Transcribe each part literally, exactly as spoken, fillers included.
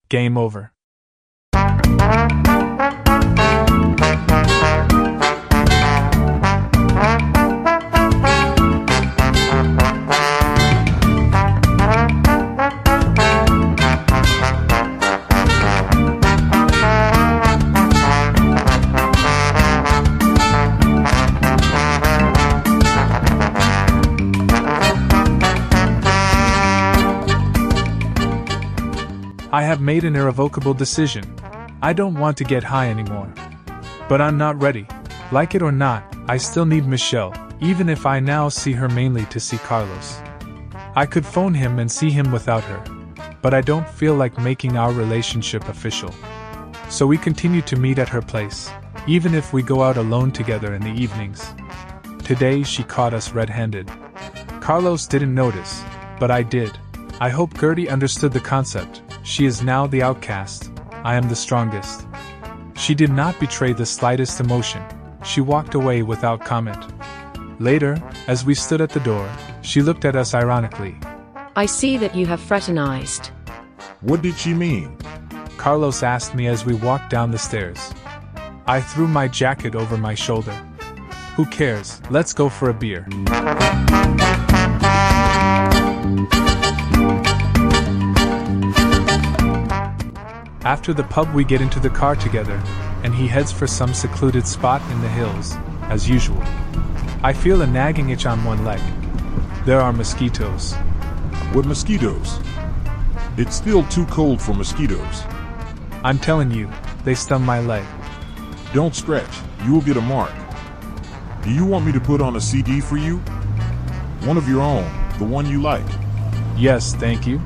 Game over. I have made an irrevocable decision. I don't want to get high anymore. But I'm not ready. Like it or not, I still need Michelle, even if I now see her mainly to see Carlos. I could phone him and see him without her, but I don't feel like making our relationship official. So we continue to meet at her place, even if we go out alone together in the evenings. Today she caught us red-handed. Carlos didn't notice, but I did. I hope Gertie understood the concept. She is now the outcast. I am the strongest. She did not betray the slightest emotion. She walked away without comment. Later, as we stood at the door, she looked at us ironically. I see that you have fraternized. What did she mean? Carlos asked me as we walked down the stairs. I threw my jacket over my shoulder. Who cares? Let's go for a beer. After the pub we get into the car together, and he heads for some secluded spot in the hills, as usual. I feel a nagging itch on one leg. There are mosquitoes. What mosquitoes? It's still too cold for mosquitoes. I'm telling you, they stung my leg. Don't stretch, you will get a mark. Do you want me to put on a C D for you? One of your own, the one you like. Yes, thank you.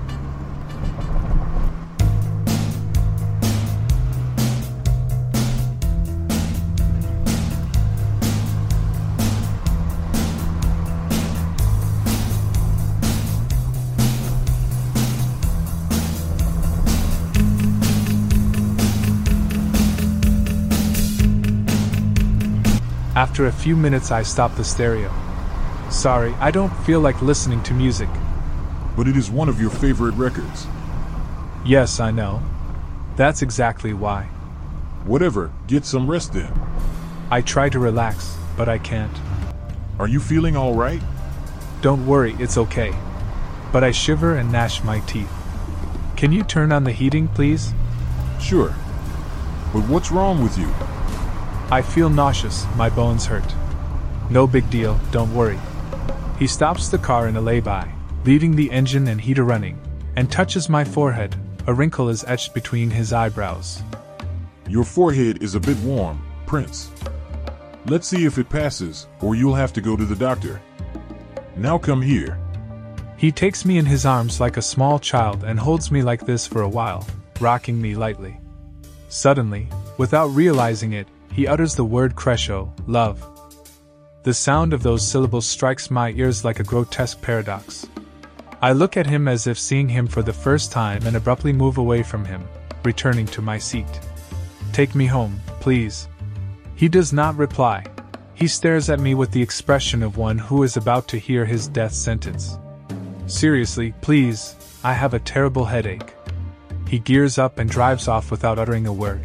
After a few minutes I stopped the stereo. Sorry, I don't feel like listening to music. But it is one of your favorite records. Yes, I know. That's exactly why. Whatever, get some rest then. I try to relax, but I can't. Are you feeling all right? Don't worry, it's okay. But I shiver and gnash my teeth. Can you turn on the heating, please? Sure. But what's wrong with you? I feel nauseous, my bones hurt. No big deal, don't worry. He stops the car in a lay-by, leaving the engine and heater running, and touches my forehead. A wrinkle is etched between his eyebrows. Your forehead is a bit warm, Prince. Let's see if it passes, or you'll have to go to the doctor. Now come here. He takes me in his arms like a small child and holds me like this for a while, rocking me lightly. Suddenly, without realizing it, he utters the word crescendo, love. The sound of those syllables strikes my ears like a grotesque paradox. I look at him as if seeing him for the first time and abruptly move away from him, returning to my seat. Take me home, please. He does not reply. He stares at me with the expression of one who is about to hear his death sentence. Seriously, please, I have a terrible headache. He gears up and drives off without uttering a word.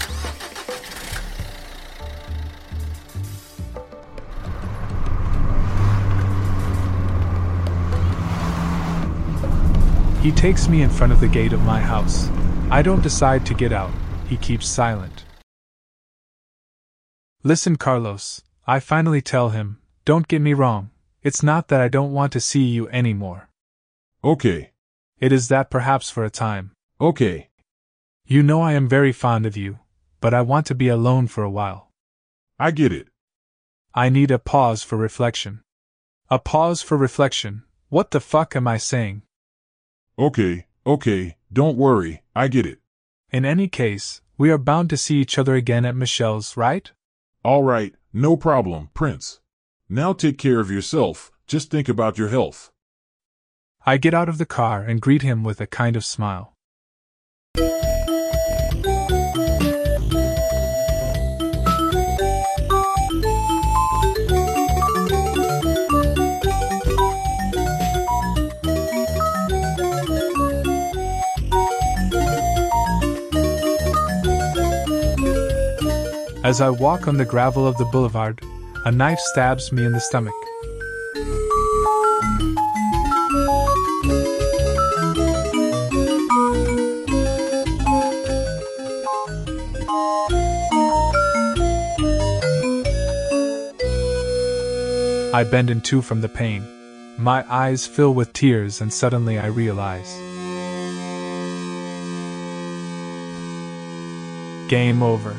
He takes me in front of the gate of my house. I don't decide to get out. He keeps silent. Listen, Carlos, I finally tell him, don't get me wrong, it's not that I don't want to see you anymore. Okay. It is that perhaps for a time. Okay. You know I am very fond of you, but I want to be alone for a while. I get it. I need a pause for reflection. A pause for reflection. What the fuck am I saying? Okay, okay, don't worry, I get it. In any case, we are bound to see each other again at Michelle's, right? All right, no problem, Prince. Now take care of yourself, just think about your health. I get out of the car and greet him with a kind of smile. As I walk on the gravel of the boulevard, a knife stabs me in the stomach. I bend in two from the pain. My eyes fill with tears and suddenly I realize. Game over.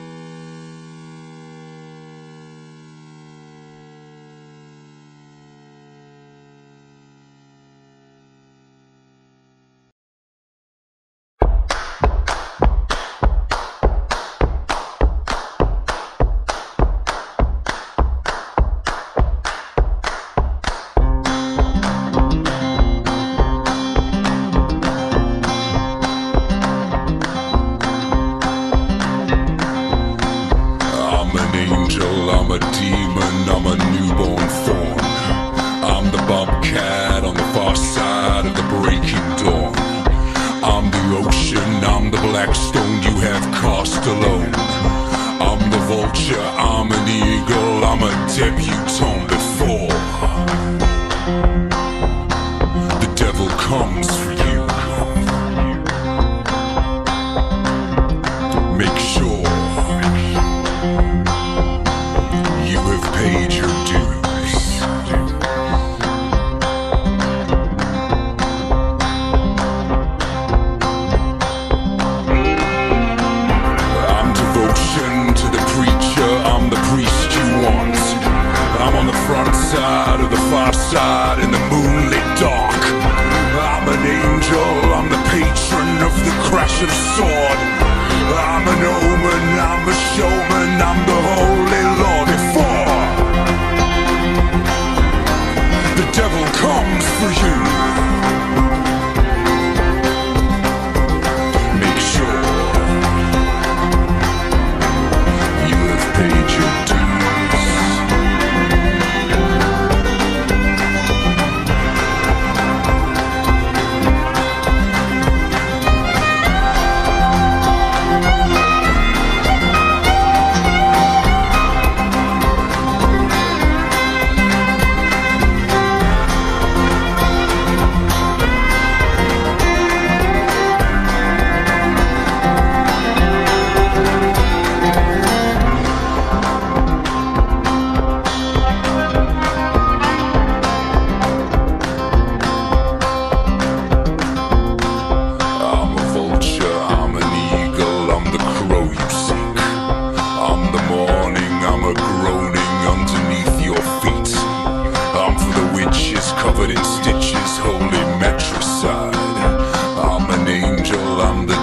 I'm a demon, I'm a newborn fawn. I'm the bobcat on the far side of the breaking dawn. I'm the ocean, I'm the black stone you have cast alone. I'm the vulture, I'm an eagle, I'm a debutante before the devil comes for you. Make sure you have paid your dues. I'm devotion to the preacher, I'm the priest you want. I'm on the front side of the far side in the moonlit dark. I'm an angel, I'm the patron of the crash of sword. I'm an omen, I'm a showman, I'm the holy Lord before the devil comes for you. Make sure you have paid your dues. Covered in stitches, holy matricide. I'm an angel, I'm the